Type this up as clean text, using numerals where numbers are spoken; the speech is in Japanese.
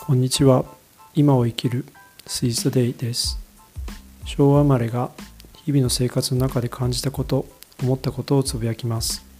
こんにちは。今を生きる Seize the Day です。昭和生まれが日々の生活の中で感じたこと、思ったことをつぶやきます。